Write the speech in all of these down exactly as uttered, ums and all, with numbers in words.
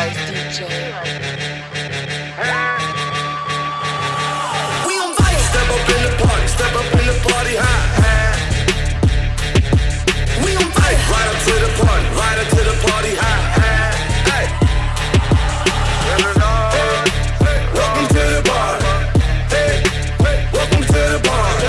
D-Rice D J. We on fire. Step up in the party, step up in the party, high, high. We on fire. Right up to the party, right up to the party, high, high. Hey. Welcome to the party. Hey, hey. Welcome to the party.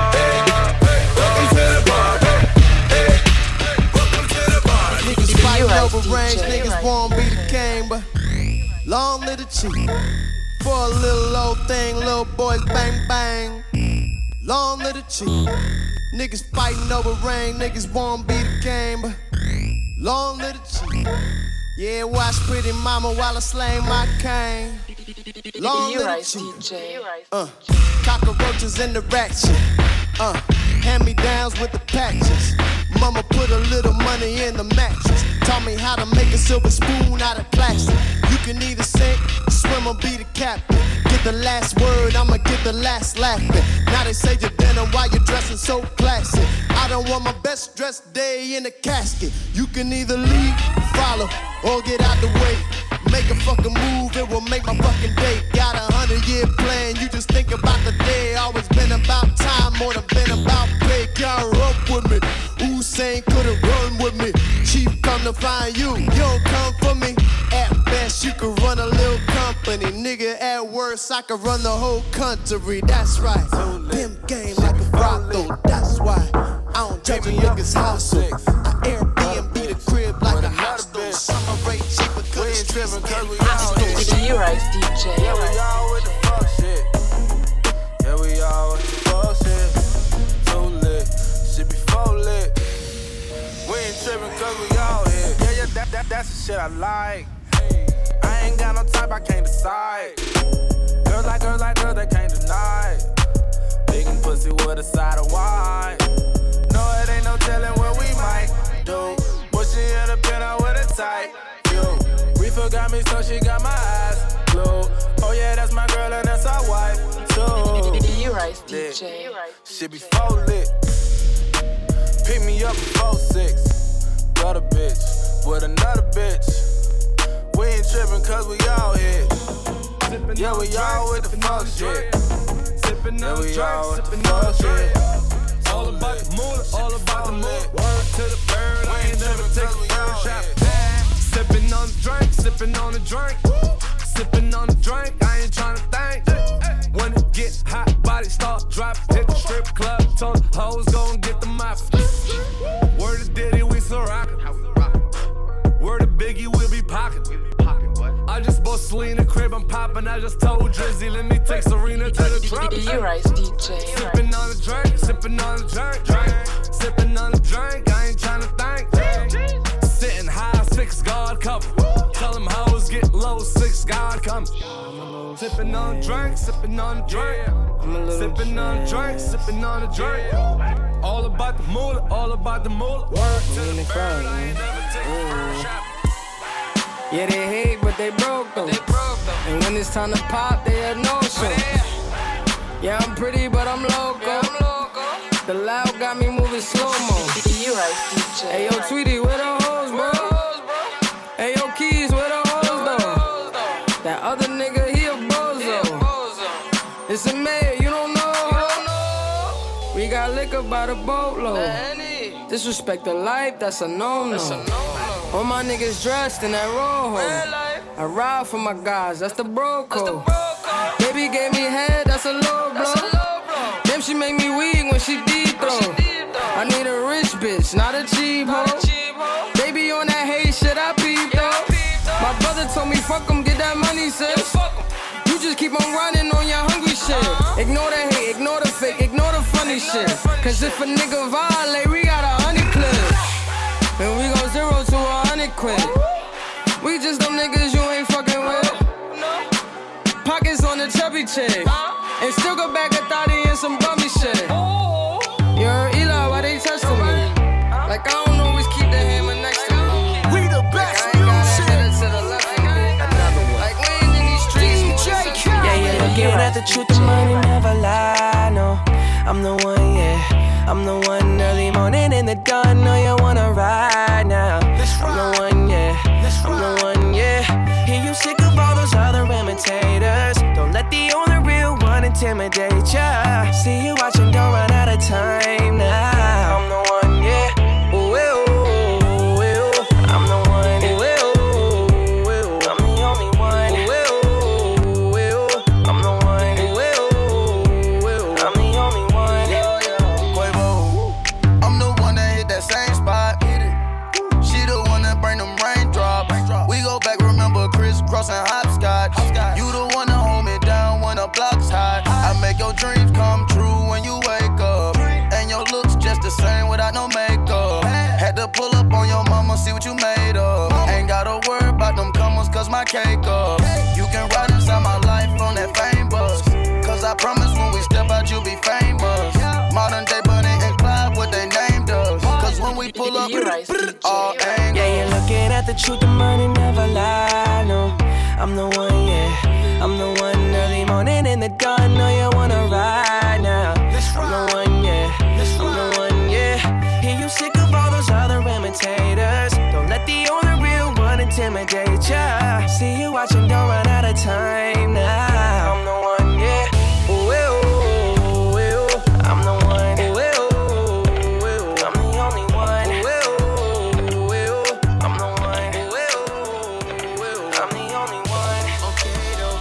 Hey, welcome to the party. Hey, welcome to the party. Niggas fighting over range, niggas won't be the king, but long live the chief. For a little old thing, little boys bang bang. Long live the chief. Niggas fighting over rain, niggas won't be the game, but long live the chief. Yeah, watch pretty mama while I slay my cane. Long live the chief. Uh, cockroaches in the ratchet. Uh, hand-me-downs with the patches. Mama put a little money in the mattress. Taught me how to make a silver spoon out of plastic. You can either sink, swim or be the captain. Get the last word, I'ma get the last laughing. Now they say you're denim while you're dressing so classy. I don't want my best dressed day in a casket. You can either lead, follow, or get out the way. Make a fucking move, it will make my fucking day. Got a hundred year plan, you just think about the day. Always been about time, more than been about pay. Can't rope with me, Usain couldn't run with me. Chief come to find you, you don't come for me. At best you could run a little company. Nigga at worst I could run the whole country. That's right, them game like a brothel. That's why I don't judge a nigga's hustle. I Airbnb the crib like a hostel. Summer rate cheaper cause it's trippin' cause we out here. D-Rice D J. Yeah, we all with the fuck shit. Yeah, we all with the fuck shit. Too lit, shit be full lit. We ain't trippin' cause we all here. Yeah, yeah, that, that, that's the shit I like. I ain't got no type, I can't decide. Girls like girls like girls, they can't deny. Big and pussy with a side of wine. No, it ain't no telling what we might do. Pushing in the pen out with a tight view. Reefer got me, so she got my eyes glued. Oh yeah, that's my girl and that's our wife too. D-Rice D J. Shit be full lit. Pick me up at four six. Got a bitch with another bitch. We ain't trippin' cause we all here. Yeah, we all with the fuck shit. Sippin' Yeah, on we all drink, with the sippin' on fuck drink. shit. All about the moolah, all about the moolah. Word to the bird, I ain't never take a bird shot. Sippin' on the drink, sippin' on the drink. Sippin' on the drink, I ain't tryna think. When it get hot, body start dropping. Hit the strip club, told the hoes gon' get the mop. Word to Diddy, we so rockin'. Word to Biggie, we'll be pockin'. I just bought Selena crib, I'm poppin'. I just told Drizzy, let me take Serena to the drop. D-Rice D J. Sippin' on the drink, sippin' on the drink, drink. Sippin' on the drink, I ain't tryna think. Sitting high, six guard cover. Tell them hoes get low, six guard come. Sippin' on the drink, sippin' on the drink. Sippin' on the drink, sippin' on the drink. All about the moolah, all about the moolah. Word to the bird, I ain't never take a first shot. Yeah, they hate, but they broke though. They broke though. And when it's time to pop, they have no show. Yeah, I'm pretty, but I'm loco. Yeah, I'm loco. The loud got me moving slow-mo. D-Rice D J. Hey, yo, Tweety, where the hoes, bro? Hey, yo, Keys, where the hoes, though? That other nigga, he a bozo. It's a mayor, you don't know. We got liquor by the boatload. Disrespect the life, that's a no-no. All my niggas dressed in that rojo. I ride for my guys, that's the bro code. Baby gave me head, that's a low blow. Damn, she make me weak when she deep throw. I need a rich bitch, not a cheap hoe. Baby on that hate shit, I peep though. My brother told me fuck him, get that money, sis. You just keep on running on your hungry shit. Ignore the hate, ignore the fake, ignore the funny shit. Cause if a nigga violate, we got a honey clip. And we go zero to a hundred quid. We just them niggas you ain't fucking with. Pockets on the chubby chick. And still go back a thotty and some bummy shit. You heard Eli, why they testing me? Like I don't always keep the hammer next to me. We the best Like, I ain't music. gotta hit it to the left. Like we ain't in these streets. Yeah, you're looking at the truth, the money never lie, no. I'm the one, yeah. I'm the one early morning in the dawn. Know you wanna ride now. I'm the one, yeah. I'm the one, yeah. intimidate ya. See you watching, don't run out of time now. I'm the one, yeah. Ooh, ooh, ooh, ooh. I'm the one, ooh, ooh, ooh. I'm the only one, ooh, ooh, ooh. I'm the one, ooh, ooh, ooh. I'm the only one. Quavo, I'm the one that hit that same spot. She the one that bring them raindrops. We go back, remember crisscross and hopscotch. You the one that hold me down when the block's hot. I make your dreams come true when you wake up. And your looks just the same without no makeup. Had to pull up on your mama, see what you made of. Ain't gotta worry about them comers, cause my cake up. You can ride inside my life on that fame bus. Cause I promise when we step out, you'll be famous. Modern day Bonnie and Clyde, what they named us. Cause when we pull up, all angles. Yeah, you're looking at the truth, the money never lie, no. I'm the one, yeah. I'm the one early morning in the dawn. Know you wanna ride now. I'm the one, yeah. I'm the one, yeah. Hear you sick of all those other imitators. Don't let the only real one intimidate ya. See you watching, don't run out of time now. I'm the one, yeah. Ooh, ooh, ooh, ooh. I'm the one, ooh, ooh, ooh. I'm the only one, ooh, ooh, ooh. I'm the one, ooh, ooh, ooh. I'm the only one. Okay, though.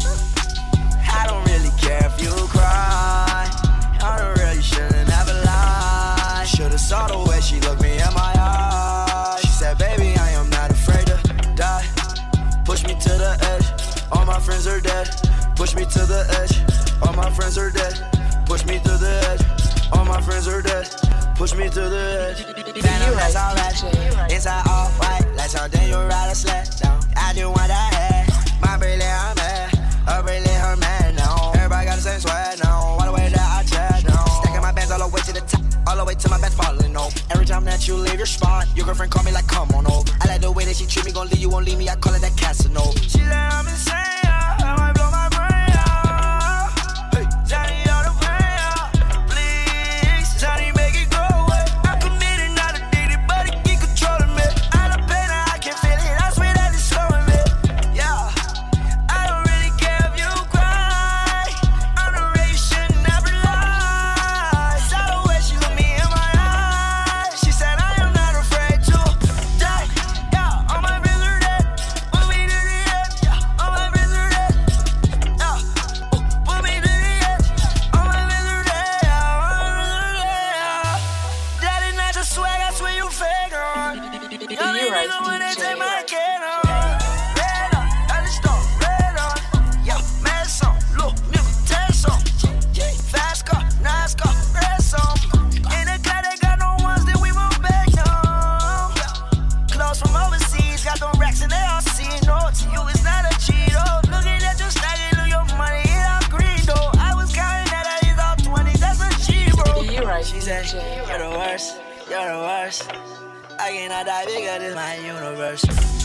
I don't really care if you cry. I don't really shouldn't ever lie. Should've saw the way she looked me in my eyes. She said, baby, I am not afraid to die. Push me to the edge. All my friends are dead. Push me to the edge. All my friends are dead. Push me to the edge. All my friends are dead. Push me to the edge. Phantom, that's alright. Inside all white. Like something you ride a sled down. I do want that head. My brilliant, I'm mad. Her brilliant, her man now. Everybody got the same sweat now. All the way that I chat now. Stacking my bands all the way to the top. All the way to my bed falling over. Every time that you leave your spot, your girlfriend call me like, come on over. I like the way that she treat me, gon' leave you, won't leave me. I call it that Casanova. She like, I'm insane, yeah. I might blow my brain out. Hey, Johnny, all the pain out. Please, Johnny, make it go away. I'm committed, not addicted, but it keep controlling me. I love pain, I can feel it. I swear that it's slowing me. Yeah, I don't really care if you cry. I'm the way you shouldn't never lie. Saw the way she looked me in my eyes. She said I am not afraid to die. Yeah, all my friends are dead. Put me to the edge. Yeah, all my friends are dead. Yeah, put me to the edge. All my friends are dead. Yeah, all my friends are dead. That is not just swag, I swear you fake on. Y'all ain't nigga when they take my kid on. Red on, I just don't red on. Yeah, mad song, look, nigga, test on. Fast car, nice car, red song. In the car, they got no ones that we move back home. Clothes from overseas, got them racks and they all see. No, to you it's not a cheat. Oh, looking at your stacking, look your money, it all green though. I was counting that I is all twenty, that's a cheat, bro. You right, She said, D J. you're the worst, you're the worst. I cannot die bigger than my universe.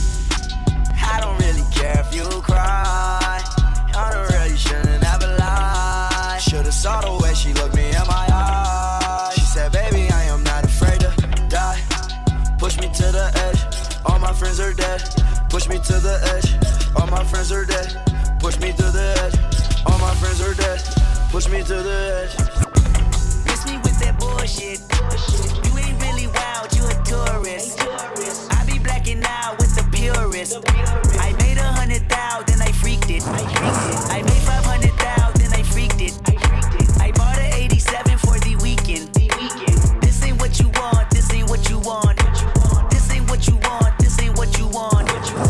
I don't really care if you cry. I don't really shouldn't ever lie. Should've saw the way she looked me in my eyes. She said, baby, I am not afraid to die. Push me to the edge. All my friends are dead. Push me to the edge. All my friends are dead. Push me to the edge. All my friends are dead. Push me to the edge. Miss me with that bullshit. You ain't really wild, you a tourist. I be blacking out with the purist. I made a hundred thou, then I freaked it. I made five hundred thou, then I freaked it. I bought an eighty-seven for the weekend. This ain't what you want, this ain't what you want. This ain't what you want, this ain't what you want.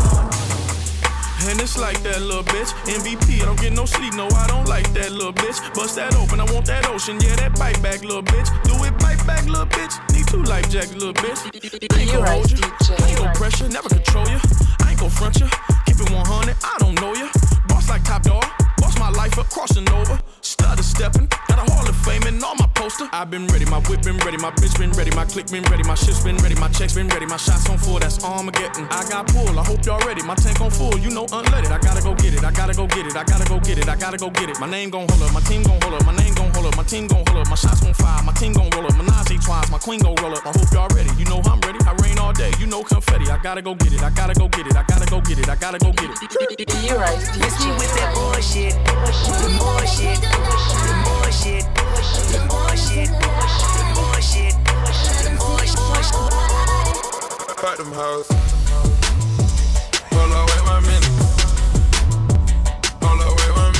And it's like that little bitch. M V P, I don't get no sleep, no, I don't like that little bitch. Bust that open, I want that ocean, yeah, that bite back, little bitch. Do it, bite back, little bitch. Need two life jackets, little bitch. I ain't gon' hold you, I ain't gon' pressure, never control you. I ain't gon' front you, keep it one hundred, I don't know you. Boss like Top Dog, boss my life up, crossing over. Stutter stepping, got a Hall of Fame and all my poster. I've been ready, my whip been ready, my bitch been ready, my click been ready, my shit's been ready, my checks been ready, my shots on full, that's Armageddon. I got pull, I hope y'all ready, my tank on full, you know unleaded. I gotta go get it, I gotta go get it, I gotta go get it, I gotta go get it. My name gon' hold up, my team gon' hold up, my name gon' hold up, my team gon' hold up, my shots gon' fire, my team gon' roll up, my Najee twice, my queen gon' roll up. I hope y'all ready, you know I'm ready, I rain all day. birthday, you know confetti. I gotta go get it, I gotta go get it, I gotta go get it, I gotta go get it. You're right, Miss me D J. with that bullshit, the bullshit, the bullshit, the bullshit, the bullshit, the bullshit. Fuck them hoes. Hold on, wait one minute. Hold on, wait one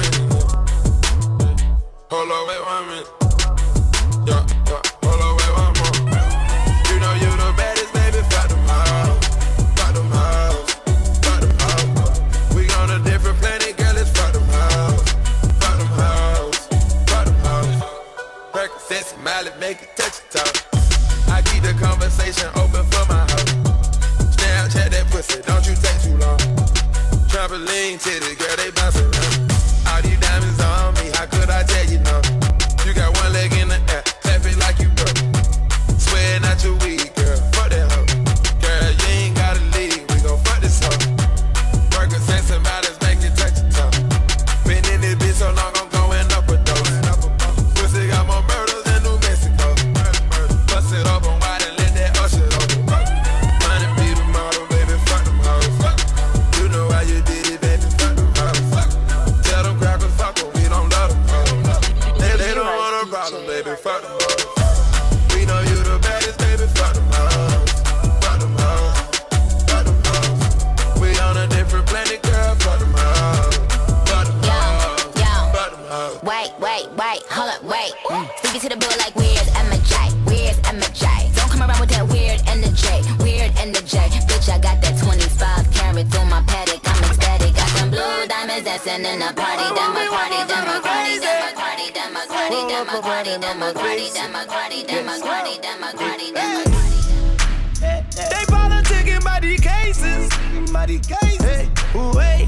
minute. Hold on, wait one minute. Yeah, yeah. Hold on, wait one more. You know you the baddest, baby. Fuck them hoes. Fuck them hoes. Fuck them hoes. We on a different planet, girl. It's fuck them hoes. Fuck them hoes. Fuck them hoes. Percocet, smile it, make it touch your toe. I keep the conversation open for my hoes. Snapchat that pussy, don't you take too long. Trampoline titties, girl, they bounce around. All these diamonds on me, how could I tell you no? You got one leg in the air, clap it like you broke. Swearing out your weed, girl, fuck that hoe. Girl, you ain't gotta leave, we gon' fuck this hoe. Percocet, somebody's make it touch your toe. Been in this bitch so long, I'm going up a dose. Pussy got more murders than New Mexico. Bust it up on wide and let that usher open. Money be the model, baby, fuck them hoes. You know how you did it, baby, fuck them hoes. Tell them crackers, fuck them, we don't love them hoes. They, they don't want a problem, baby, fuck them hoes. We know you the baddest, baby, fuck them hoes. Fuck them hoes, fuck them hoes. We on a different planet, girl, fuck them hoes. Fuck them hoes, fuck them hoes. Wait, wait, wait, hold up, wait. Mm. Speaking to the bill like weird M J, weird M J. Don't come around with that weird energy, weird energy. Bitch, I got that twenty-five carat through my paddock. I'm ecstatic, got them blue diamonds dancing in the party. Democratic, democratic, democratic, democratic, democratic, democratic, democratic, democratic, democratic, democratic. They politicking by these cases, by these cases. Hey, wait.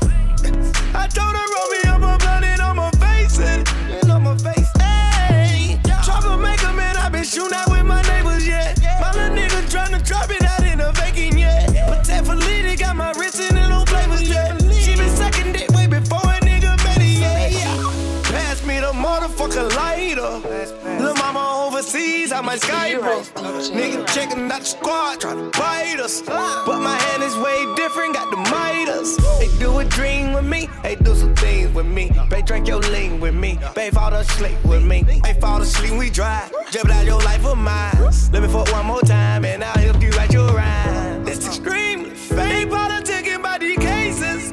I told her roll me up a blunt and I'ma face it, and I'ma face it. Hey, troublemaker, man, I been shooting out with my neighbors, yeah. My little nigga tryna drop it out in the vacant, yeah. But that Felita got my wrist in the no flavors, yeah. She been sucking dick way before a nigga met it, yeah. Pass me the motherfucker lighter. Lil' mama overseas, I might Skype her. Nigga checking out the squad, tryna bite us. But my hand is way different, got the Midas. They do a dream with me, they do some things with me. They drink your lean with me, they fall asleep with me. They fall asleep, we drive, jeopardize your life of mine. Let me fuck one more time and I'll help you write your rhyme. It's extremely fake. They politicking by these cases.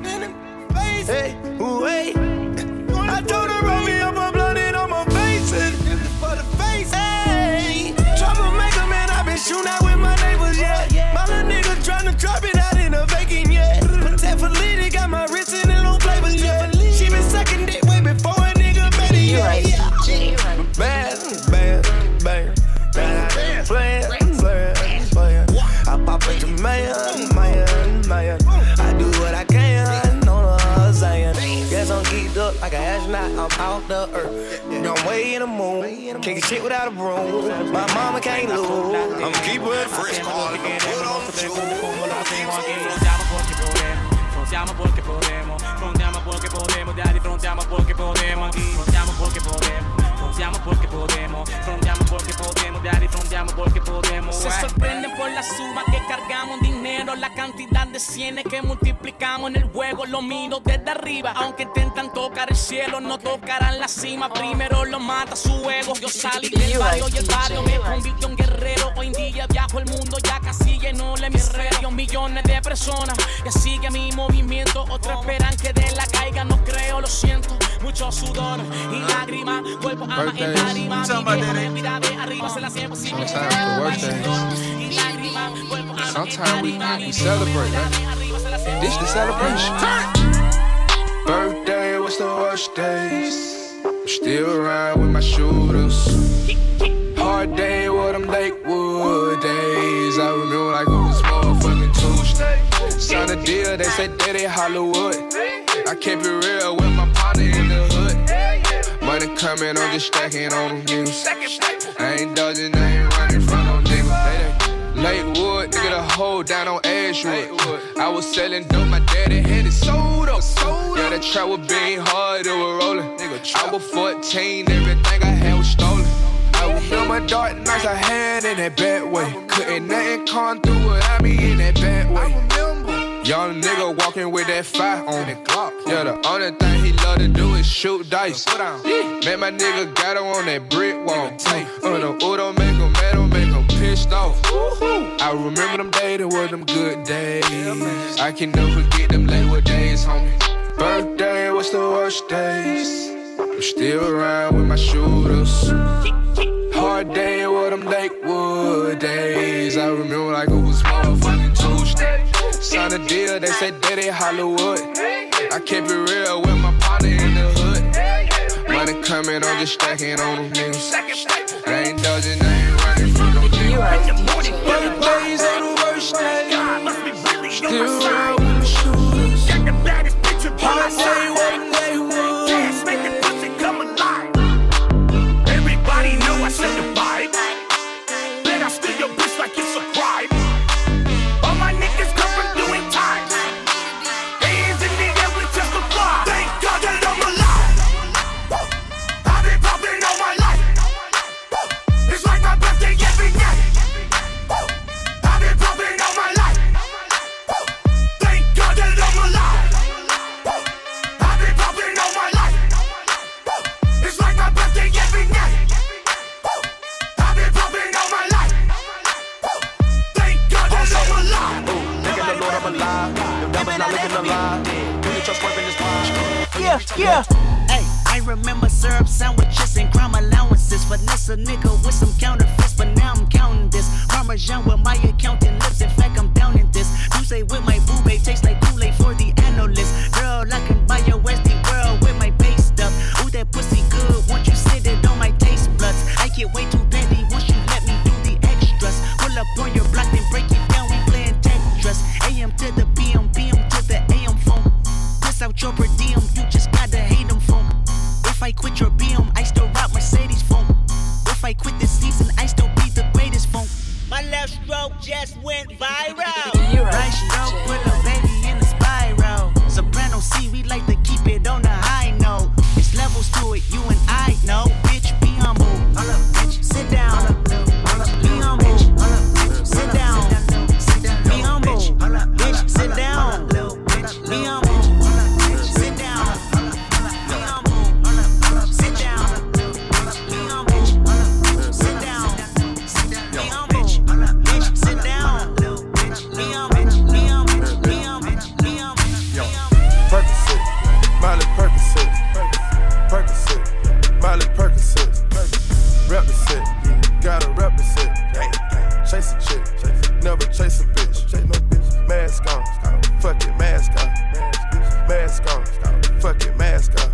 Hey, wait. I told her roll me up a blunt and I'ma face it. For the face. Hey, troublemaker, man, I been shooting out with my neighbors, yeah. My little nigga tryna drop it out in the vacant, yeah. But that Felita got my wrist in the no flavors, yeah. She been sucking dick way before a nigga met it, yeah. Bad, bad, bad, bad, playing, playing, playing. I pop into man, man, man. I do what I can, no no saying. Guess I'm geeked up like an astronaut, I'm out the earth. I'm way in the moon, kicking shit without a broom. My mama can't lose, I'm keeping it fresh. Frontiamo porque podemos, frontiamo porque podemos, daddy, frontiamo porque podemos, aquí, frontiamo porque podemos, frontiamo porque podemos, frontiamo porque podemos, daddy, frontiamo porque podemos. Se sorprenden por la suma que cargamos, dinero, la cantidad de cienes que multiplicamos en el juego, lo miro desde arriba, aunque intentan tocar el cielo, no tocarán la cima, primero lo mata su ego, yo salí del barrio y el barrio me convirtió en guerrero, hoy en día viajo el mundo ya casi lleno de mis redes, millones de personas que siguen mi movimiento, otros esperan que de la caiga, no creo, lo siento, mucho sudor y lágrimas, cuerpo ama en lágrimas, vida de arriba se la siempre sigue. Sometimes we we celebrate, right? This the celebration. Birthday, what's the worst days? I'm still around with my shooters. Hard day, with them Lakewood days. I remember like it was motherfucking Tuesday. Signed a deal, they said Daddy Hollywood. I kept it real with my partner in the hood. Money coming, I'm just stacking on them niggas. I ain't dodging, I ain't running from them niggas. Lakewood, nigga, the hoe down on Ashwood. I was selling dope, my daddy had it sold up. Yeah, that trap was being hard, it was rolling. I was fourteen, everything I had was stolen. I was Remember dark nights I had in that bad way. Couldn't nothing come through without me in that bad way. Young nigga walking with that fire on it. Yeah, the only thing he love to do is shoot dice. Man, my nigga got him on that brick wall. Uh, the Udo make him mad, don't make him pissed off. I remember them days, they were them good days. I can never forget them Lakewood days, homie. Birthday was the worst days. I'm still around with my shooters. Hard day with them Lakewood days. I remember like it was motherfucking Tuesday. Signed a deal, they said Daddy Hollywood. I kept it real with my partner in the hood. Money coming, I'm just stacking on them niggas. I ain't dodging, I ain't running from no niggas. Birthdays are the worst days. Still around with my shooters. Hard day with them Lakewood. Make the pussy come alive. Everybody know I set the vibe. Then I steal your bitch like it's a crime. All my niggas come from doing time. Hands in the air, we testify. Thank God that I'm alive. I've been popping all my life. It's like my birthday every day. I've been popping all my life. Thank God that I'm alive. I've been popping all my life. It's like my birthday every night. I've been popping all my life. Thank God that I'm alive. Thank the Lord I'm alive. The devil's not looking alive. Do you trust work in this world? Yeah, yeah. Hey, I remember syrup sandwiches and crime allowances. Finesse a nigga with some counterfeits, but now I'm counting this. Parmesan with my accountant lips. In fact, I'm down in this. You say with my boo babe tastes like Kool-Aid for the analyst. Girl, I can buy your Westie world with my base stuff. Ooh, that pussy good. Once you sit it on my taste buds, I get way too petty once you let me do the extras. Pull up on your block and break it down. We playing Tetris. A M to the P M, P M to the A M phone. Piss out your per diem, you just gotta hate them phone. If I quit your B M, I still rock Mercedes phone. If I quit this season, I still be the greatest phone. My left stroke just went viral. Right stroke put a baby in the spiral. Soprano C, we like to keep it on the high note. It's levels to it, you and I know. Bitch, be humble. Bitch, sit down. Be humble. Sit down. Be humble. Bitch, sit down. Be humble. Sit down. Be humble. Sit down. Be humble. Sit down. Be humble. Bitch, sit down. Be humble. Be humble. Be humble. Be humble. Yo, Percocet, Miley Percocet, Percocet, Miley Percocet, rep the set, gotta rep the set, chase a chick, never chase a bitch, mask on, fuck it, mask on, mask on, fuck it, mask on,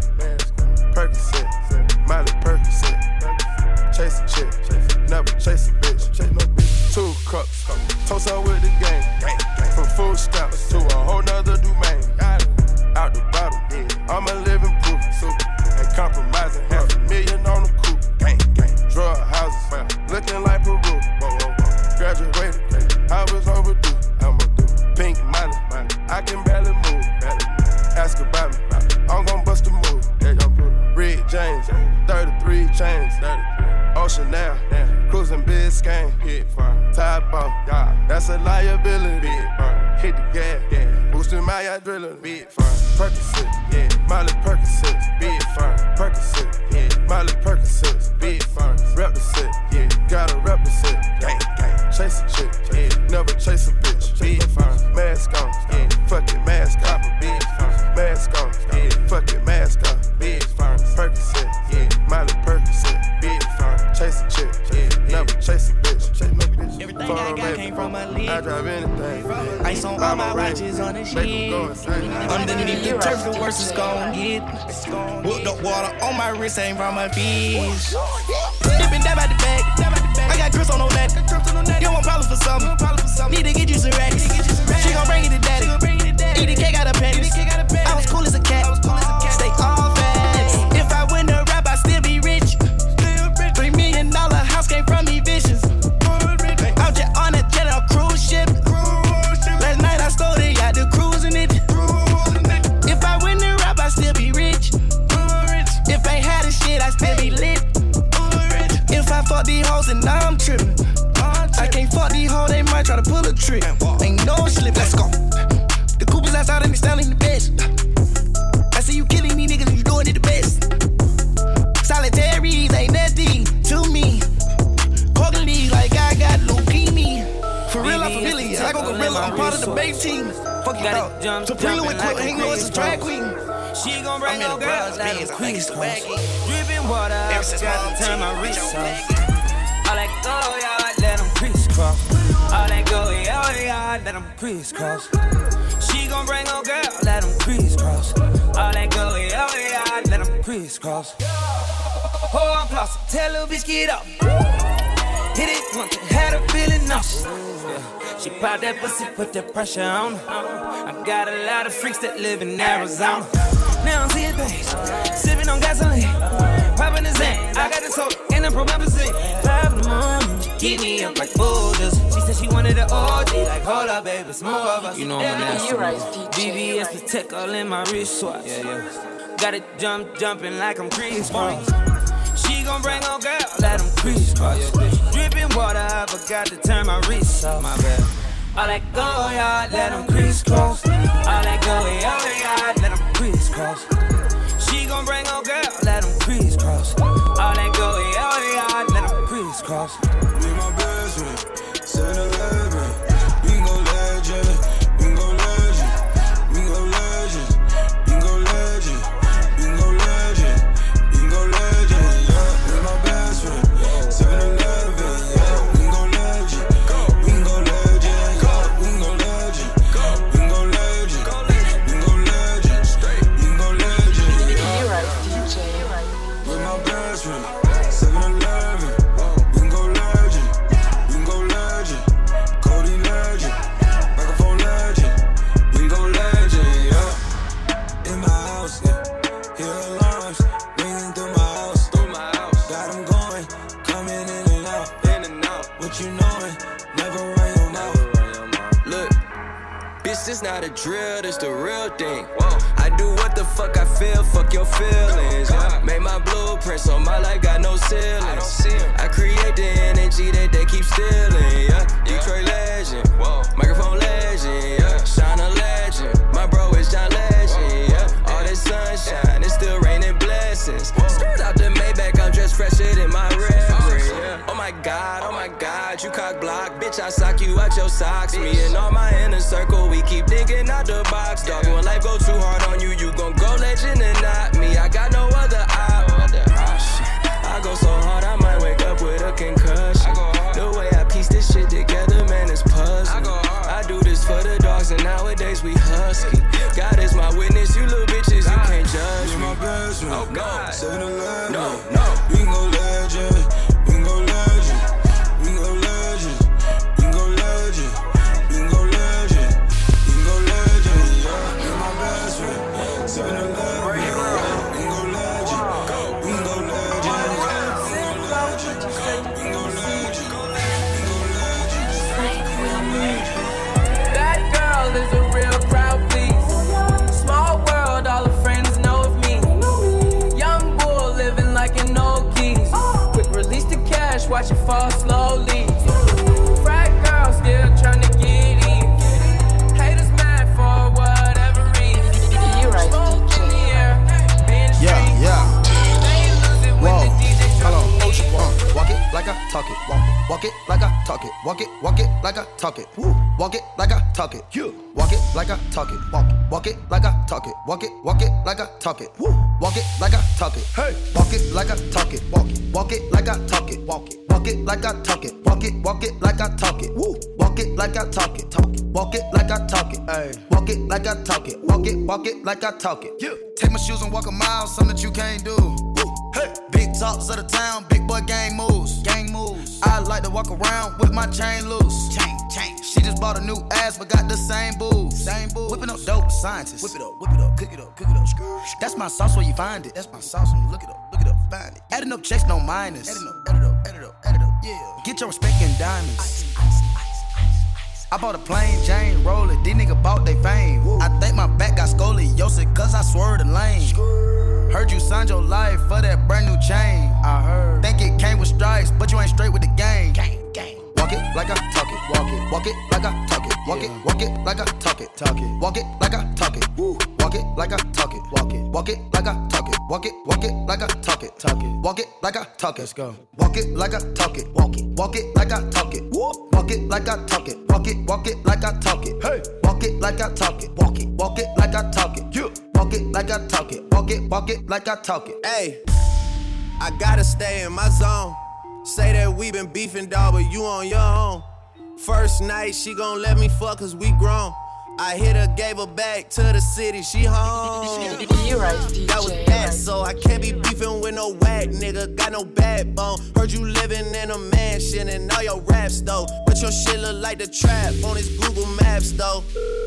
Percocet, Miley Percocet, chase a chick, never chase a bitch, two cups, toast up with the gang, from food stamps to a whole nother domain. Out the bottle, I'm a living proof. Ain't compromising, half a million on the coupe. Gang, gang, drug houses, looking like Peru. Graduated, I was overdue. I'm a do pink money, I can barely move. Ask about me, I'm gon' bust a move. Red James, thirty-three chains, Ocean now, cruising Biscayne. Top off, that's a liability. Hit the gas, boosting my adrenaline. Big firm, Percocet, yeah. Miley Percocet, big firm, Percocet, yeah. Miley Percocet, big firm. Rep the set, yeah. Gotta rep the set, gang, gang. Chase a chick, yeah. Never chase a bitch, big firm. Mask on, yeah. Fuck it, mask on, big firm. Mask on, yeah. Fuck it, mask on, big firm. Percocet, yeah. Miley Percocet, big firm. Chase a chick, yeah. Never chase a bitch. Everything I got came from my league. I drive anything. Ice on all my watches on the shit. Underneath the turf, the worst is gon' get. Whooped up water on my wrist, ain't from my fish. Dippin' dab out the bag. I got grips on no neck. You want problems for something. Need to get you some racks. She gon' bring it to daddy. Eat the cake out of panties. I was cool as a cat. Stay all facts. If I win the rap, I still be rich. Three million dollar house came from me vicious. I'm just on a jet on a cruise ship. Last night I stole the yacht, the cruising it. If I win the rap, I still be rich. If I ain't had the shit, I still be lit. If I fuck these hoes, gotta pull a trick. Ain't no slip, let's go. The Coopers outside and they styling the best. I see you killing these niggas, you doing it the best. Solitaries ain't nothing to me. Quarterly like I got leukemia. For real, I'm familiar. I go gorilla, I'm part of the base team. Fuck you up. Supreme with quick, ain't know it's a drag queen. She gon' bring no girls, let them crease cross. Dripping water, I forgot to turn my wrist off. All that go, y'all, let them crisscross. All that go, y'all, y'all, let them crisscross. She gon' bring no girl, let them crisscross. All that go, y'all, y'all, let them crisscross. Oh, I'm flossing, tell little bitch get up. Hit it once, had her feeling nauseous. Yeah. She popped that pussy, put that pressure on her. I got a lot of freaks that live in Arizona. Now I'm seeing things, sipping on gasoline, popping the Zen. I got the soda in the promethazine. Five in the morning, she keep me up like boulders. She said she wanted an O G, like hold up, baby, it's more of us. You know I'm nasty. B B S Protect all in my wristwatch. Yeah, yeah. Got it jump, jumping like I'm Chris Cross. She gon' bring on girl, let them crisscross. Dripping water, I forgot to turn my wrist off. My bad. All that go, y'all, let them crisscross. All that go, y'all, y'all, let them crisscross. She gon' bring on girl, let them crisscross. All that go, y'all, y'all, let them crisscross. Be my best friend, seven eleven. We can go legend, we can go legend. We can go legend, we can go legend. We can go legend, we can go legend. Yeah, be my best friend, seven eleven. Yeah, we can go legend, we can go legend. Yeah, we can go legend, we can go legend. We can go legend, we can go legend. You're right, D J. With my best friend, seven eleven. We can go legend, we can go legend. Cody legend, microphone legend. We can go legend, yeah. In my house, yeah. Hear alarms ringing through my house. Through my house. Got them going, coming in and out. In and out. What you knowin', never run your mouth. Look, bitch, this not a drill, this the real thing. I do what the fuck I feel, fuck your feelings. Yeah. Made my blueprint so my life got no ceilings. I create the energy that they keep stealing. Yeah, Detroit legend, microphone legend. Yeah, Shine a legend, my bro is John Legend. Yeah, all this sunshine, it's still raining blessings. Straight out the Maybach, I'm dressed fresher than my reverend. Yeah. Oh my God, oh my God, you cock block, bitch, I sock you out your socks. Me and all my inner circle, we keep thinking out the box. Dog, when life go too hard on you, you gon' go legend and not me. I got no other option. I go so hard, I might wake up with a concussion. The way I piece this shit together, man, it's puzzling. I do this for the dogs, and nowadays we husky. God is my witness, you little bitches, you can't judge me. My best friend, oh God, seven eleven. No, no, we can go legend, we can go legend, we can go legend, we can go legend, we can go legend, we can go legend. Yeah, you're my best friend, seven eleven. We can go legend, we can go legend, we can go legend, we can go legend, That girl is a real crowd, please. Small world, all her friends know of me. Young bull living like an old keys. Quick release the cash, watch it fall slowly. Frat girl still trying to get in. Haters mad for whatever reason. You're right, Smoke in the air, being Yeah, yeah. They lose it when Whoa, the D J hold on. drop the beat. Uh, walk it like I talk it. Walk, walk it like I talk it. Walk it, walk it like I talk it. Woo. Walk it like I talk it. You. Walk it like I talk it. Walk, walk it like I talk it. Walk it, walk it like I talk it. Woo. Walk it like I talk it. Hey. Walk it like I talk it. Walk it, walk it like I talk it. Walk it, walk it like I talk it. Walk it, walk it like I talk it. Woo. Walk it like I talk it. Talk it. Walk it like I talk it. Hey. Walk it like I talk it. Walk it, walk it like I talk it. You. Take my shoes and walk a mile, something that you can't do. Woo. Hey. Big talks of the town, big boy gang moves. Gang moves. I like to walk around with my chain loose. Chain, chain. She just bought a new ass, but got the same boobs. Same boobs. Whipping up dope scientists. Whip it up, whip it up, cook it up, cook it up. That's my sauce where you find it. That's my sauce when you look it up, look it up, find it. Adding up checks, no minus. Adding up, add it up, add it up, add it up, yeah. Get your respect in diamonds. Ice, ice, ice, ice, ice. I bought a plain Jane roller, these niggas bought they fame. Woo. I think my back got scoliosis, cause I swerved the lane. Heard you signed your life for that brand new chain. I heard. Think it came with stripes, but you ain't straight with the game. Gang, gang. Walk walk it like I talk it, walk it, walk it like I talk it, walk it, walk it like I talk it, talk it, walk it like I talk it, woo, walk it like I talk it, walk it, walk it like I talk it, walk it, walk it like I talk it, talk it, walk it like I talk it, let's go, walk it like I talk it, walk it, walk it like I talk it, woo, walk it like I talk it, walk it, walk it like I talk it, hey, walk it like I talk it, walk it, walk it like I talk it, you, walk it like I talk it, walk it, walk it like I talk it, hey, I gotta stay in my zone. Say that we been beefing, dawg, but you on your own. First night, she gon' let me fuck cause we grown. I hit her, gave her back to the city, she home. You right, D J. That was that, so I can't be beefing with no whack nigga. Got no backbone. Heard you living in a mansion and all your raps though. But your shit look like the trap on his Google Maps though.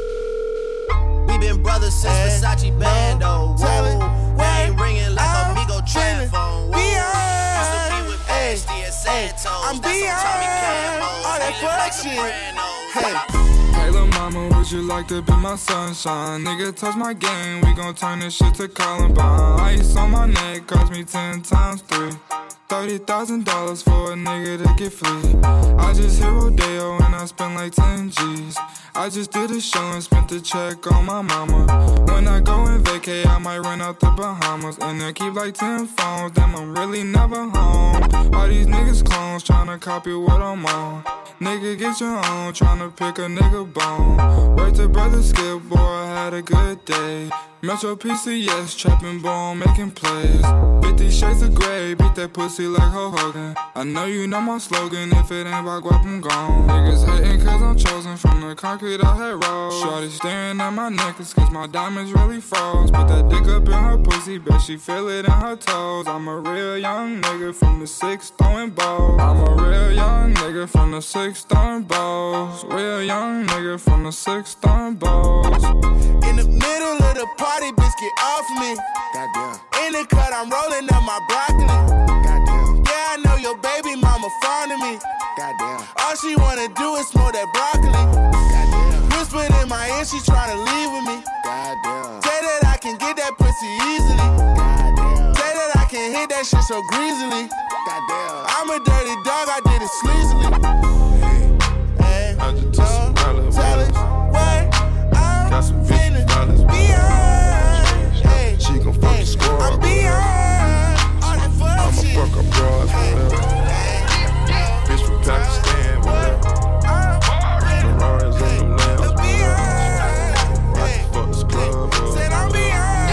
We been brothers since Versace Bando. Whoa, we ain't ringing like a Migo trap phone. Used to be with Pasty and Santos. I'm beyond all that fuck shit. Hey. Hey, lil' mama, would you like to be my sunshine? Nigga, touch my game, we gon' turn this shit to Columbine. Ice on my neck cost me ten times three. thirty thousand dollars for a nigga to get free. I just hit Rodeo and I spent like ten G's. I just did a show and spent the check on my mama. When I go and vacay, I might run out the Bahamas. And I keep like ten phones, damn, I'm really never home. All these niggas clones tryna copy what I'm on. Nigga, get your own, tryna pick a nigga bone. Word to brother Skip, boy, I had a good day. Metro P C S, trapping ball, making plays. Fifty shades of gray, beat that pussy like Hulk Hogan. I know you know my slogan, if it ain't about guap, I'm gone. Niggas hating cause I'm chosen from the concrete I had rolled. Shorty staring at my necklace cause my diamonds really froze. Put that dick up in her pussy, bet she feel it in her toes. I'm a real young nigga from the six throwing balls. I'm a real young nigga from the six throwing balls. Real young nigga from the six throwing balls. In the middle of the party, bitch, get off me. Goddamn. In the cut, I'm rolling up my broccoli. Goddamn. Yeah, I know your baby mama fond of me. Goddamn. All she wanna do is smoke that broccoli. Goddamn. Whispered in my ear, she tryna leave with me. Goddamn. Say that I can get that pussy easily. Goddamn. Say that I can hit that shit so greasily. Goddamn. I'm a dirty dog, I did it sleazily. Hey, hey, I just took some dollars. Tell it, what? Got some fifty dollars beyond. Hey, she gon' fuck hey, the squad. I'm beyond all that fuck I'ma shit. Fuck up broad forever. Bitch from Pakistan, whatever. Ferraris on them lambs, whatever. I can fuck this club up. Said I'm beyond.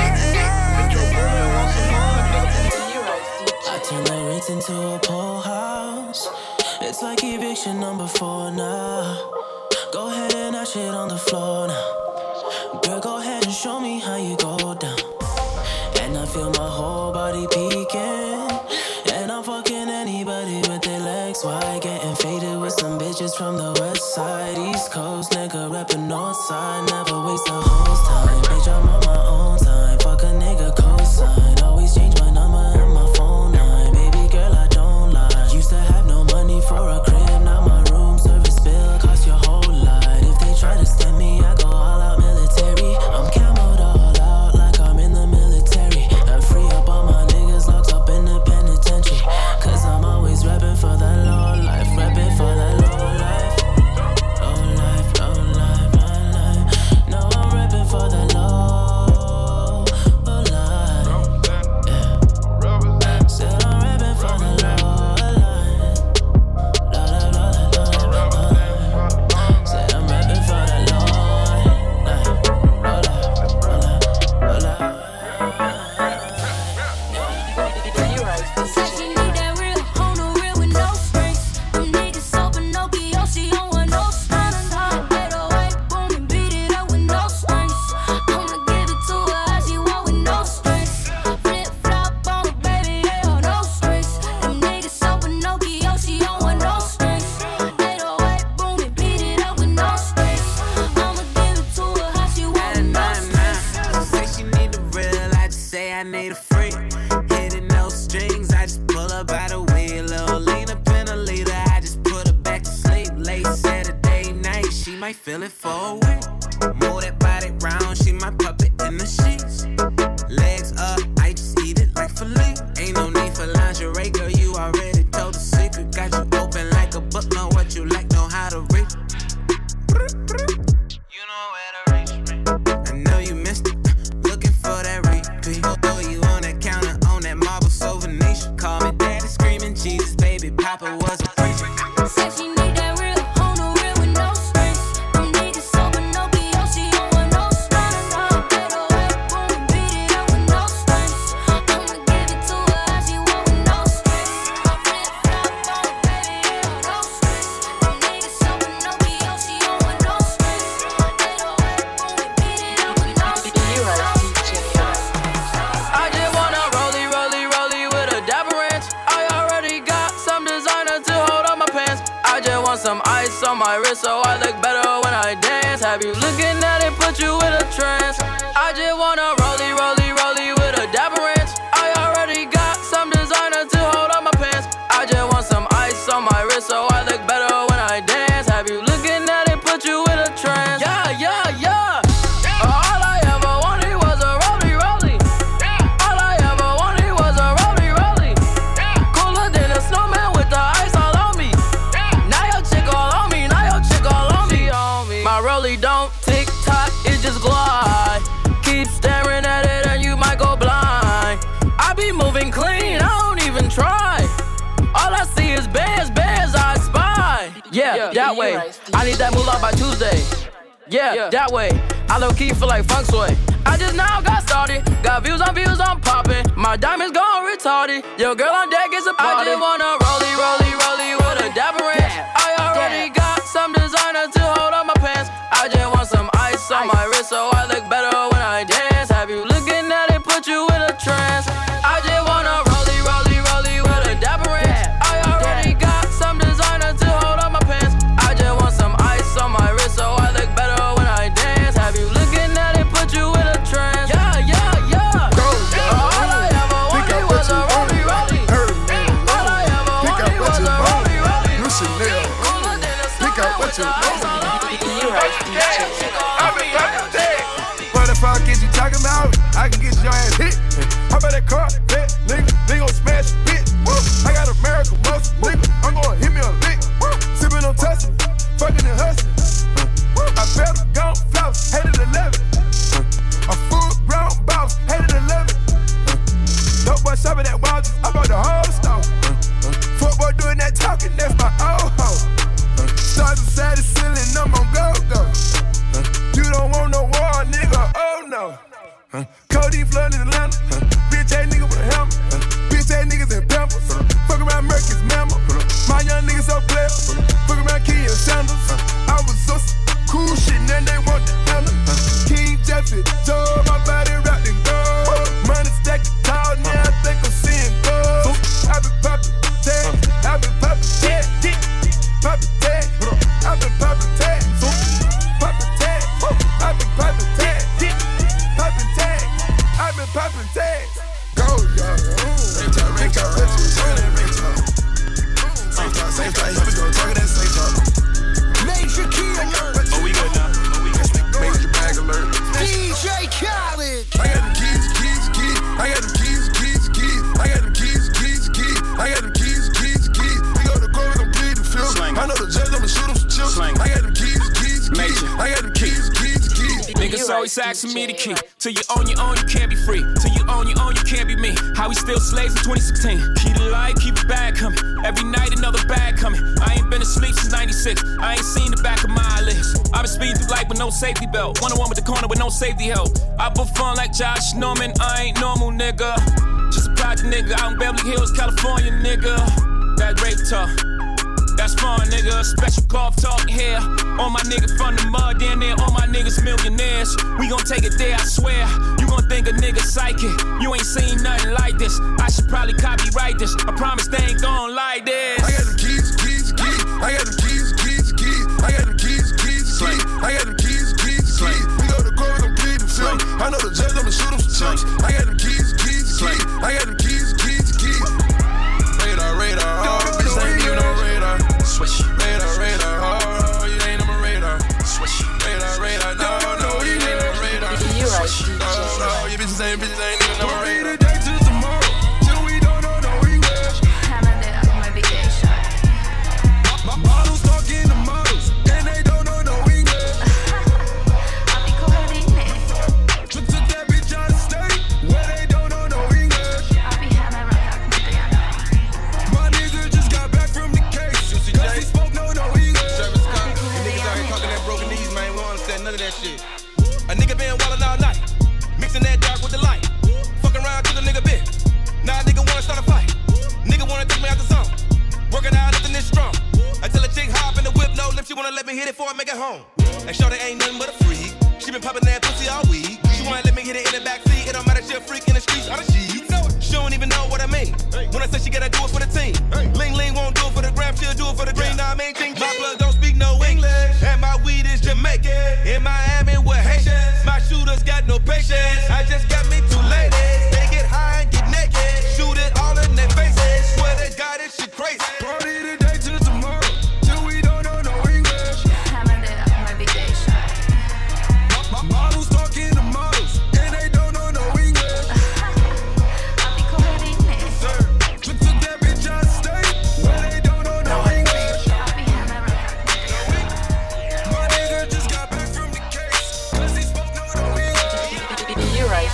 I turn the Ritz into a pool house. It's like eviction number four now. Go ahead and that shit on the floor now. Girl, go ahead and show me how you go down. And I feel my whole body peeking. And I'm fucking anybody with their legs wide. Getting faded with some bitches from the west side. East Coast, nigga reppin' north side. Never waste a hoe's time. Bitch, I'm on my own time. Fuck a nigga cosign. Always change my number and my phone line. Baby girl, I don't lie. Used to have no money for a crib. Now my room service bill cost your whole lot. If they try to stem me, I go all out military. I'm camoed all out like I'm in the military. And free up all my niggas locked up in the penitentiary. Cause I'm always reppin' for that low life. Reppin' for that low life. Low life, low life, low life. No, I'm reppin' for that low, low life. Yeah. Said I'm reppin' for that low life. Low life, low life, low life, low life. Said I'm reppin' for that low life. Low life, low life, low life. Said she need that real, on the real with no strings. Them niggas so Pinocchio, she don't want no strings. eight oh eight, boom, and beat it up with no strings. I'ma give it to her how she want with no strings. Flip flop on her, baby, yeah, no strings. Them niggas so Pinocchio, she don't want no strings. eight oh eight, boom, and beat it up with no strings. I'ma give it to her how she want with no strings. Say she need the real, I just say I need a freak. Hitting no strings, I just pull up by the wheel. Little lean up in a leader, I just put her back to sleep. Late Saturday night, she might feel it for a week. Move that body round, she my puppet in the sheets. Legs up, I just eat it like filet. Ain't no need for lingerie, girl, you already told the secret. Got you open like a book, know what you like. ice on my wrist so I look better when I dance. Have you looking at it, put you in a trance? I just wanna rollie, rollie, rollie with a dapper ranch. I already got some designer to hold on my pants. I just want some ice on my wrist so I look better when I dance. Have you looking at it, put you in a trance? Yeah, yeah, yeah. All I ever wanted was a rollie, rollie. All I ever wanted was a rollie, rollie. Cooler than a snowman with the ice all on me. Now your chick all on me, now your chick all on me. My rollie don't tick tock, it just glide. Keep staring at it and you might go blind. I be moving clean, I don't even try. All I see is bands, bands I spy. Yeah, yeah that way. Right, I need that moolah by Tuesday. Yeah, yeah, that way. I low key feel like funk sway. I just now got started. Got views on views, I'm popping. My diamonds gone retarded. Yo, girl on deck is a party. I just wanna rollie, rollie, rollie with a dapper ranch. I already got some designer to hold on my pants. I just want some ice on my wrist so I look better when I dance. Have you looking at it, put you in a trance? I just wanna rollie, rollie, rollie with a dapper ranch. I already got some designer to hold on my pants. I just want some ice on my wrist so I look better when I dance. Have you looking at it, put you in a trance? Yeah, yeah, yeah. All I ever wanted was a rollie, rollie. All I ever wanted was a rollie, rollie. New Chanel. Pick out what you want. What the fuck is you talking about? I can get your ass hit. How about that car? That nigga, they gon' smash a bitch. I got American muscle, nigga. I'm gon' hit me a lick. Sippin' on Tussin', fuckin' and hustlin'. I better go floss, hated eleven. A full brown boss, hated eleven. Dope boy shopping at Walgreens, I bought the whole store. Fuck boy doing that talking, that's my old hoe. Stars inside the ceiling, I'm on go-go. You don't want no war, nigga, oh no. Cody flooded Atlanta, bitch ass nigga with a helmet. Bitch ass niggas in Pampers, fuck around Mercury's mammal. My young niggas so clever, fuck around Key and Sandals. I was so cool shit, then they want the hammer. King Jeffy, Joe, my body wrapped in gold. Money stacked tall, now I think I'm seeing gold. I been poppin' tags, I been poppin' tags, poppin' tags, I been poppin' tags, poppin' tags, I been poppin' tags, poppin' tags, I been poppin' tags. Go, y'all. Same time, ring talk, ring talk. Same time, same time, here we go, talkin' that same time. Major key alert. Oh, we good now. Oh, we good. Major bag alert. D J Khaled. I got them keys, keys, keys. I got them keys, keys, keys. I got them keys, keys, keys. I got them keys, keys, keys. We go to court, we gon' plead the field. I know the judge, I'ma shoot him some chips. I got them keys, keys, keys. I got them keys, keys, keys. Niggas always asking me the key. Till you own your own, you can't be free. Till you own your own, you can't be me. How we still slaves in twenty sixteen. Keep the light, keep the bag coming. Every night another bag coming. I ain't been asleep since ninety-six. I ain't seen the back of my eyelids. I been speeding through life with no safety belt. One on one with the corner with no safety help. I perform like Josh Norman. I ain't normal, nigga. Just a project nigga out in Beverly Hills, California, nigga. That rape talk. That's fun, nigga. Special golf talk here. All my niggas from the mud, down there. All my niggas millionaires. We gon' take it there, I swear. You gon' think a nigga psychic. You ain't seen nothing like this. I should probably copyright this. I promise they ain't gon' like this. I got the keys, keys, keys. I got the keys, keys, keys. I got the keys, keys, keys. I got the keys, keys, keys. We go to court, we gon' plead the field. I know the judge, I'ma shoot him some chips. I got the keys, keys, keys. I got the keys, keys, keys. Radar, radar, oh, bitch ain't even on radar. Swish. Radar, radar, oh, you ain't on my radar. Swish. Radar, radar, no, no, you ain't on my radar. Swish. No, no, you bitches ain't, bitches ain't even on my radar. Today to tomorrow, till we don't know no English. Models talking to models, and they don't know no English. Took that bitch out of state, where they don't know no English. My nigga just got back from the case, cause he spoke no no English. Service cop, you niggas out here talking that broken knees, man, we don't understand none of that shit. A nigga been wildin' all night, mixing that dark with the light. Fucking around to the nigga bit. Now a nigga wanna start a fight. Nigga wanna take me out the zone. Working out nothing this strong. Until a chick hop in the whip, no lip, she wanna let me hit it before I make it home. And shorty ain't nothing but a freak. She been popping that pussy all week. She wanna let me hit it in the backseat. It don't matter, she a freak in the streets, all the sheets. She don't even know what I mean. When I say she gotta do it for the team. Ling Ling won't do it for the gram, she'll do it for the green. Nah, I mean, ting, my blood don't speak no English. And my weed is Jamaican. In Miami with Haitians. My shooters got no patience. I just got me two ladies. They get high and get naked. Shoot it all in their faces. Swear to God, this shit crazy. Party today till tomorrow. Till we don't know no English. I'm on my vacation. My models talking to models. And they don't know no English. I'll be coordinating this. Took that bitch out of state. Where they don't know no English. I'll be hammered. My nigga just got back from the case. Cause he spoke no no English. You're right,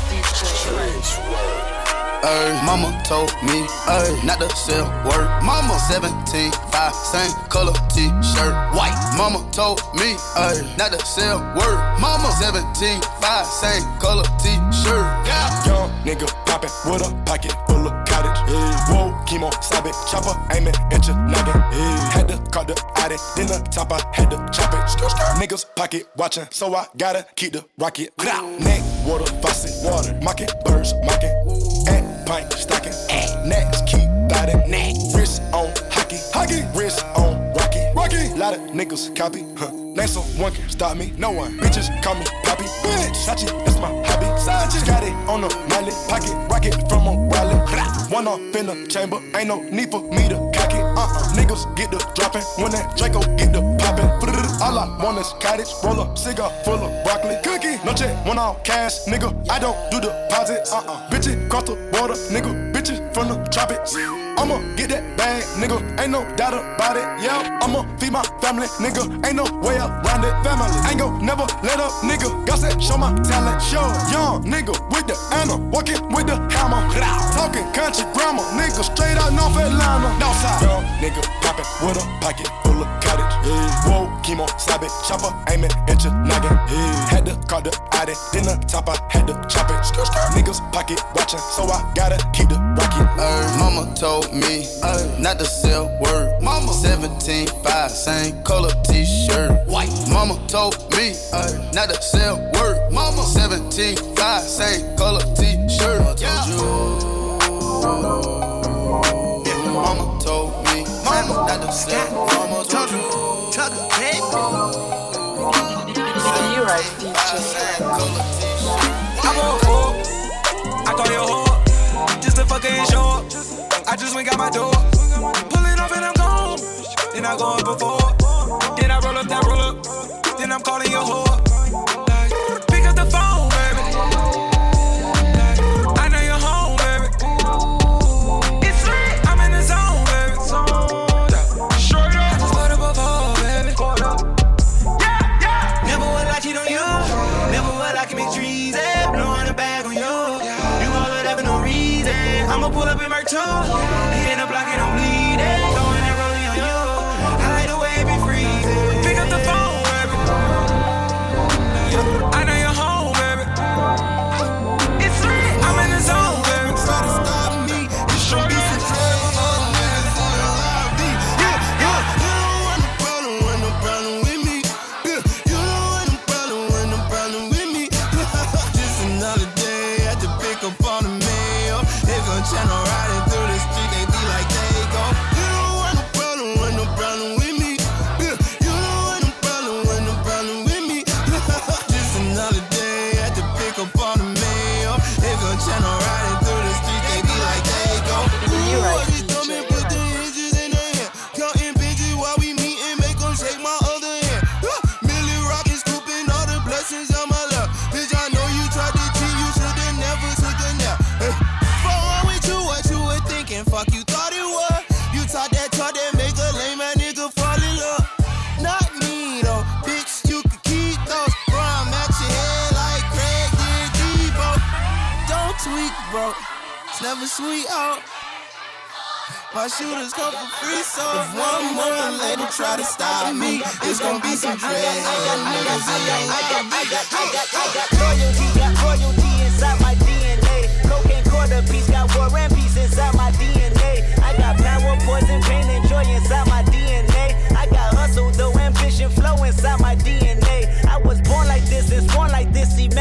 Ay, mama told me, ay, not to sell word. Mama seventeen, five, same color t-shirt, white. Mama told me, ay, not to sell word. Mama seventeen, five, same color t-shirt. Yeah. Young nigga poppin' with a pocket full of cottage. Yeah. Whoa, chemo, stop it, chopper, aimin' at your noggin. Yeah. Had to call the Audi, then the top I had to chop it. Skr, skr. Niggas pocket watchin', so I gotta keep the rocket. Neck, water, faucet, water, mocking, birds, mocking. At pint, stocking, next, keep biting. Wrist on hockey, hockey, wrist on rocky, rocky. Lot of niggas copy, huh? Name someone can stop me, no one. Bitches call me Poppy, bitch. Sachi, that's my hobby. Sachi, got it on the mallet, pocket rocket from a wallet. One off in the chamber, ain't no need for me to cock it. Uh-uh, niggas get the dropping when that Draco get the popping. All I want is cottage, roll up, cigar full of broccoli, cookie. No check, one off cash, nigga. I don't do deposits. Uh-uh, bitches cross the water, nigga. Bitches from the tropics. I'ma get that bag, nigga. Ain't no doubt about it. Yeah, I'ma feed my family, nigga. Ain't no way around it. Family, ain't gon' never let up, nigga. Got that, show my talent, show. Young nigga with the Anna, walking with the hammer. Talking country grammar, nigga straight out North Atlanta. Northside, young nigga poppin' with a pocket full of cottage. Yeah. Whoa, chemo, stop it, chopper, aimin' at your noggin. Yeah. Had to call the Audi, then the top I had to chop it. Skr, skr. Niggas pocket watchin', so I gotta keep the rocket. Ay, mama told me, ay, not to sell word. Mama seventeen, five, same color t-shirt, white. Mama told me, ay, not to sell word. Mama seventeen, five, same color t-shirt. Mama told you. Mama told me, mama not to sell. Mama told you. You're right, D J. I'm on four. I call your whore. Just to fuck and show up. I just went got my door. Pulling up and I'm gone. Then I go up before. Then I roll up that roll up. Then I'm calling your whore. Like, pick up the phone, baby. Like, I know you're home, baby. It's lit. I'm in the zone, baby. Straight up. I just put up before, baby. Yeah, yeah. Never would I cheat on you. Never would I commit treason. Blowing a bag on you. You all would have no reason. I'ma pull up in my toe. Hit the block and I'm bleeding. Throwing that rolling on you. I like the way it be freezing. Pick up the phone, baby. I know you're home, baby. It's lit. I'm in the zone, baby. Try to stop me. You should be some trouble. Yeah, yeah. You don't want no problem, want no problem with me. Yeah, you don't want no problem, want no problem with me. Just another day, had to pick up on the mail. They gon' channel riding through the street, they be like, they go. You don't want no problem, want no problem with me. Yeah, you don't want no problem, want no problem with me. Just another day, had to pick up on the mail. They gon' channel riding through the street, they be like, they go. Ooh, I be thumbing, put the hinges in their hand. Counting bitches while we meetin', make them shake my other hand. Millie rockin', scooping all the blessings on my lap. Bitch, I know you tried to cheat, you should've never took a nap. Hey, fuck wrong with you, what you were thinking? Fuck you thought it was. You taught that talk that make a lame ass nigga fall in love. Not me though, bitch, you can keep those. Bro, I'm at your head like Craig did Debo. Don't tweak, bro, it's never sweet out. My shooters come for free, so if one more lady try to stop me, it's gonna be some dread. I got, I got, I got, I got, I got, I got, I got loyalty, got royalty inside my D N A. Cocaine quarter piece, got war and peace inside my D N A. I got power, poison, pain, and joy inside my D N A. I got hustle, though ambition, flow inside my D N A. I was born like this, and born like this, immaculate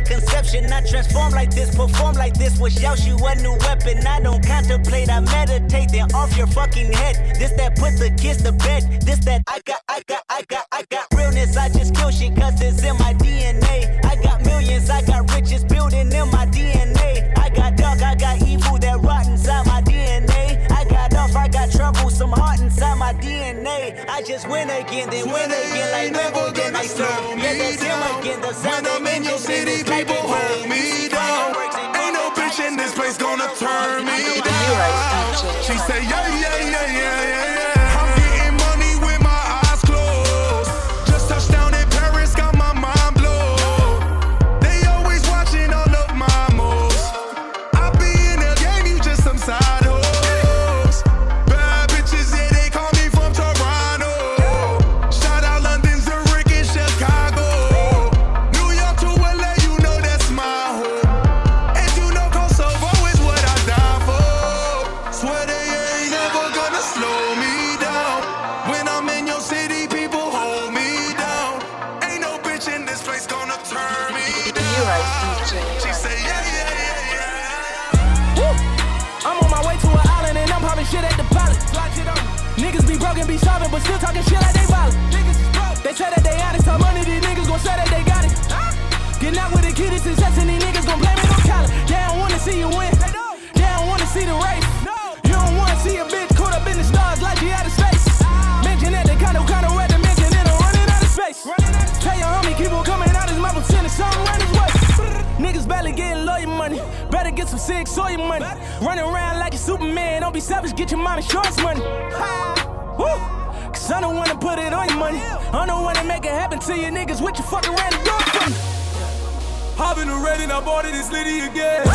conception. I transform like this, perform like this. Was Yaoshi a new weapon? I don't contemplate, I meditate. Then off your fucking head. This that put the kids to bed. This that I got, I got, I got, I got realness. I just kill shit cause it's in my D N A. I got millions, I got riches building in my D N A. I got dark, I got evil that rot inside my D N A. I got off, I got trouble, some heart inside my D N A. I just win again, then win again like never then I serve. Yeah, that's him again, the sound when I'm in your city, people hold me down. Ain't no bitch in this place gonna turn me down. She say, yeah, yeah, yeah, yeah, yeah, yeah. I'm getting money with my eyes closed. Just touched down in Paris, got my mind blown. They always watching all of my moves. I be in the game, you just some side hoes. Bad bitches, yeah, they call me from Toronto. Shout out London, Zurich, and Chicago. New York to L A, you know that's my home. And you know Kosovo is what I die for. Swear they ain't never gonna slow me down. When I'm in your city, people hold me down. Ain't no bitch in this place gonna turn me down. She say, yeah, yeah, yeah, yeah. Woo! I'm on my way to an island and I'm popping shit at the pilot. Niggas be broken, be solving, but still talking shit like they violent. They say that they honest, how money these niggas gon' say that they got it. Getting out with the kid is success and these niggas gon' blame it on talent. They don't wanna see you win. They don't wanna see the race. You don't wanna see a bitch caught up in the stars like she out of space. Mention that they kinda kinda red to mention it, I'm running out of space. Tell your homie keep on coming out his mouth and sending something run his way. Niggas barely getting lawyer money. Better get some sick soy money. Running around like a Superman. Don't be selfish, get your mom insurance money. Woo! Cause I don't wanna put it on your money. I don't wanna make it happen to you niggas. What you fucking around and do it for me? Hop in the red and I bought it, it's Liddy again.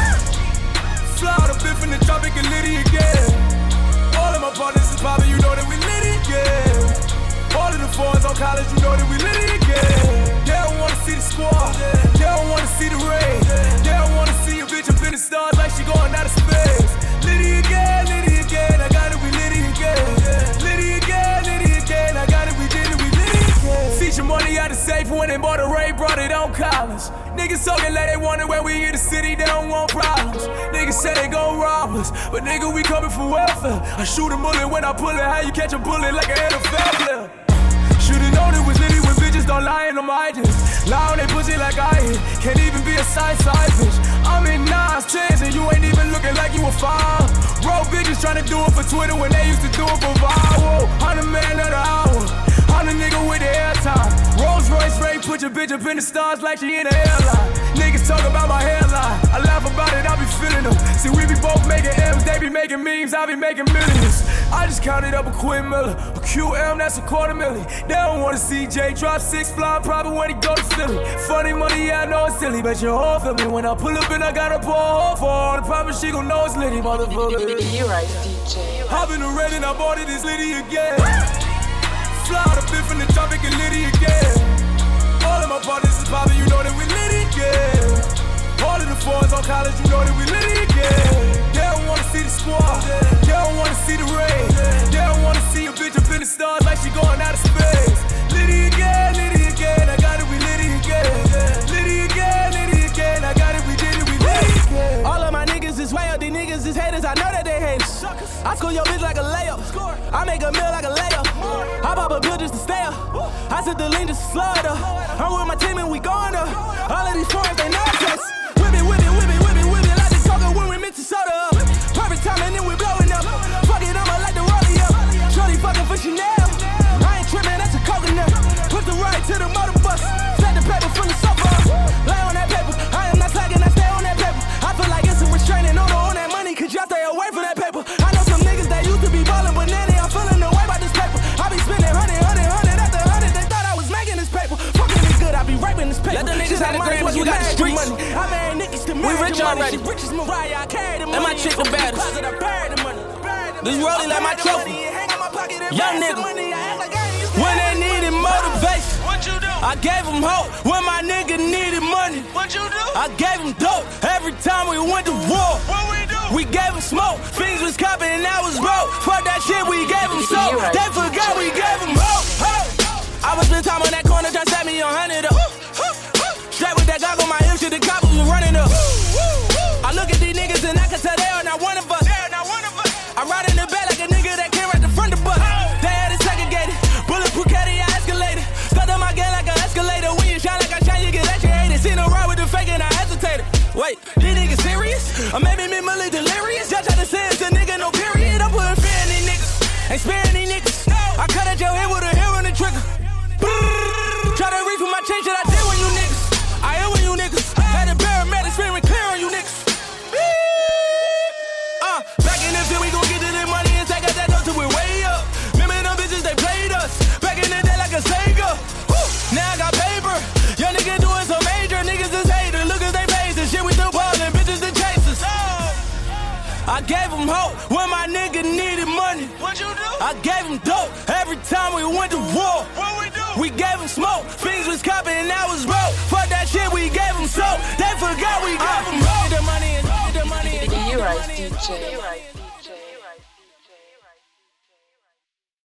Fly out a bit from the tropic and Liddy again. All of my partners is poppin', you know that we Liddy again. All of the fours on college, you know that we Liddy again. They don't wanna see the squad, they don't wanna see the rain. They don't wanna see a bitch up in the stars like she going out of space. Liddy again, Liddy again, I got it, we Liddy again. Liddy again, Liddy again, I got it, we did it, we Liddy again. See your money out of safe when they bought a Ray, brought it on collars. Niggas talking like they wonder when we in the city, they don't want problems. Niggas say they gon' rob us, but nigga, we coming for welfare. I shoot a bullet when I pull it, how you catch a bullet like an N F L player? Should've known it was Liddy when bitches don't lie in them items. Lie on they pussy like I hit, can't even be a side side bitch. I'm in nines, tens, and you ain't even looking like you a five. Bro, bitches tryna do it for Twitter when they used to do it for viral. Hundred man of the hour, hundred nigga with the airtime. Rolls Royce Ray, put your bitch up in the stars like she in the airline. Niggas talk about my hairline, I laugh about it, I be feeling them. See, we be both making M's, they be making memes, I be making millions. I just counted up a Quinn Miller, a Q M, that's a quarter million. They don't wanna see Jay drop six, flying probably when he go to Philly. Funny money, yeah, I know it's silly, but your whole feel me when I pull up and I gotta pour a hole for her. I promise she gon' know it's Liddy, motherfucker. You right, D J. Hop in the red and I bought it, it's Liddy again. Fly out a bit from the tropic and Liddy again. All of my partners is poppin', you know that we Liddy again. All of the fours on college, you know that we Liddy again. They don't wanna see the squad, they don't wanna see the rain. They don't wanna see a bitch up in the stars like she going out of space. Liddy again, Liddy again, I got it, we Liddy again. Liddy again, Liddy again, I got it, we did it, we Liddy again. All of my niggas is way up, these niggas is haters, I know that they hate us. I score your bitch like a layup, I make a meal like a layup. I pop a bill just to stay up, I said the lean just to slow it up. I'm with my team and we going up. All of these foreigns, they know us. Whip it, whip it, whip it, whip it, whip it like the coca when we mix the soda up. Perfect time and then we blowing up. Fuck it, I'ma like the rollie up. Shorty fucking for Chanel. I ain't tripping, that's a coconut. Put the right to the motor bus. Set the paper full of sofa. Lay on that paper, I am not slacking, I stay on that paper. I feel like it's a restraining order on that money, cause y'all stay away from that paper. I know some niggas that used to be ballin', but now they are feeling the way about this paper. I be spending hundred, hundred, hundred after hundred. They thought I was making this paper. Fucking it good, I be raping this paper. Let the niggas have the gram, we got the streets. Money. I married niggas to we rich already. She rich as Mariah, I carry the money. And my chick the baddest. This rollie like my trophy. Young nigga. When they needed motivation, what you do? I gave them hope. When my nigga needed money, what you do? I gave them dope. Every time we went to war, what we do? We gave them smoke. Things was copping and I was broke. Fuck that shit, we gave them soap. They forgot we gave them hope. I was spend time on that corner, trying to set me a hundred up. Straight with that goggle, my hip shit, the coppers was running up. I look at these niggas and I can tell they are not one of us. I ride in the back like a nigga that came right the front of the bus. They had it segregated, bulletproof caddy, I escalated. Stuck on my game like an escalator. When you shine like I shine, you get electrocuted. See no ride with the fake and I hesitated. Wait, these niggas serious? Or maybe minimally delirious? Y'all try to say it's a nigga, no period. I'm putting fear in these niggas, ain't sparing these niggas. I cut at your head with a hair on the trigger. Try to reach for my change that I did when you niggas. I am when you niggas. Had the paramedics screaming clear on you niggas. Uh, back in the day, we gon' get to the money and take out that dough till we're way up. Remember them bitches, they played us. Back in the day like a Sega. Woo. Now I got paper. Young nigga doing some major. Niggas is haters. Look at they faces. Shit, we still ballin'. Bitches the chasers. Oh. I gave them hope when my nigga needed money. What you do? I gave them dope every time we went to war. What we do? We gave them smoke. Things was copping and that was broke. Fuck that shit, we gave them soap. They forgot we gave them hope. The money and the money and You right, D J.